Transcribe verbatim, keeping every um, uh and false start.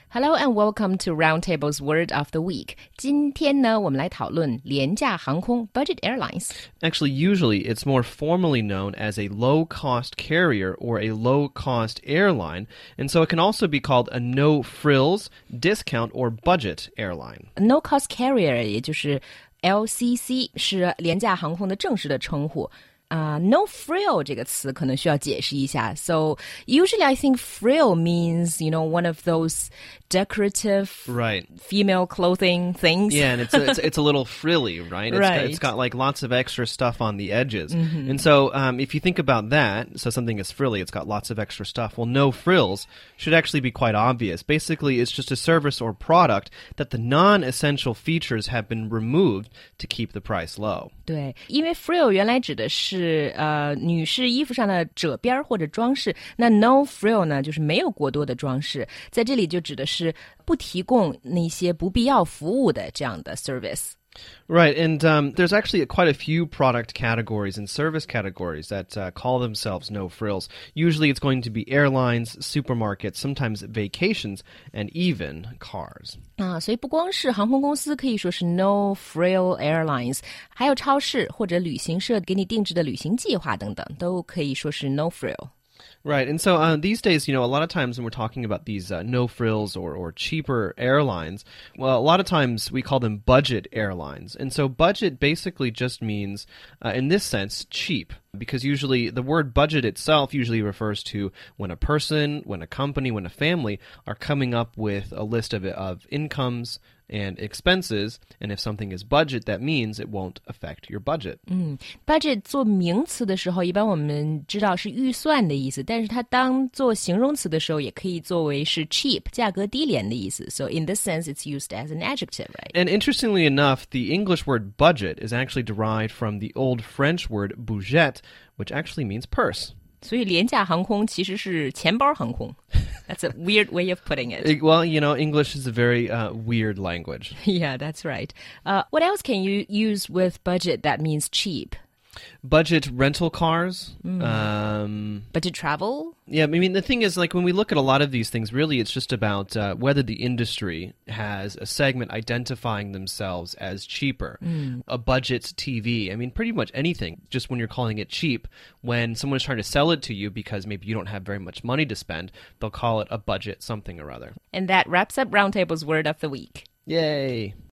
Hello and welcome to Roundtable's Word of the Week. 今天呢，我们来讨论廉价航空 budget airlines. Actually, usually it's more formally known as a low-cost carrier or a low-cost airline, and so it can also be called a no-frills, discount, or budget airline. No-cost carrier 也就是 L C C 是廉价航空的正式的称呼。Uh, no frill 这个词可能需要解释一下。So usually I think frill means, you know, one of those decorative right. female clothing things. Yeah, and it's a, it's, it's a little frilly, right? It's right. Got, it's got like lots of extra stuff on the edges. Mm-hmm. And so um, if you think about that, so something is frilly, it's got lots of extra stuff. Well, no frills should actually be quite obvious. Basically, it's just a service or product that the non-essential features have been removed to keep the price low. 对，因为 frill 原来指的是呃女士衣服上的褶边或者装饰，那 no frill 呢就是没有过多的装饰，在这里就指的是不提供那些不必要服务的这样的 service。 Right, and um, there's actually quite a few product categories and service categories that uh, call themselves no frills. Usually it's going to be airlines, supermarkets, sometimes vacations, and even cars. 啊，所以不光是航空公司可以说是 no frill airlines， 还有超市或者旅行社给你定制的旅行计划等等，都可以说是 no frill。 Right, and so uh, these days, you know, a lot of times when we're talking about these uh, no-frills or, or cheaper airlines, well, a lot of times we call them budget airlines. And so budget basically just means, uh, in this sense, cheap. Because usually the word budget itself usually refers to when a person, when a company, when a family are coming up with a list of, of incomes and expenses, and if something is budget, that means it won't affect your budget. 嗯 budget 做名词的时候，一般我们知道是预算的意思，但是它当做形容词的时候，也可以作为是 cheap 价格低廉的意思。So in this sense, it's used as an adjective, right? And interestingly enough, the English word budget is actually derived from the old French word budget, which actually means purse. 所以廉价航空其实是钱包航空。That's a weird way of putting it. it well, you know, English is a very uh, weird language. Yeah, that's right. Uh, what else can you use with budget that means cheap? Budget rental cars. Mm. Um, budget travel? Yeah, I mean, the thing is, like, when we look at a lot of these things, really it's just about uh, whether the industry has a segment identifying themselves as cheaper. Mm. A budget T V. I mean, pretty much anything, just when you're calling it cheap, when someone's trying to sell it to you because maybe you don't have very much money to spend, they'll call it a budget something or other. And that wraps up Roundtable's Word of the Week. Yay!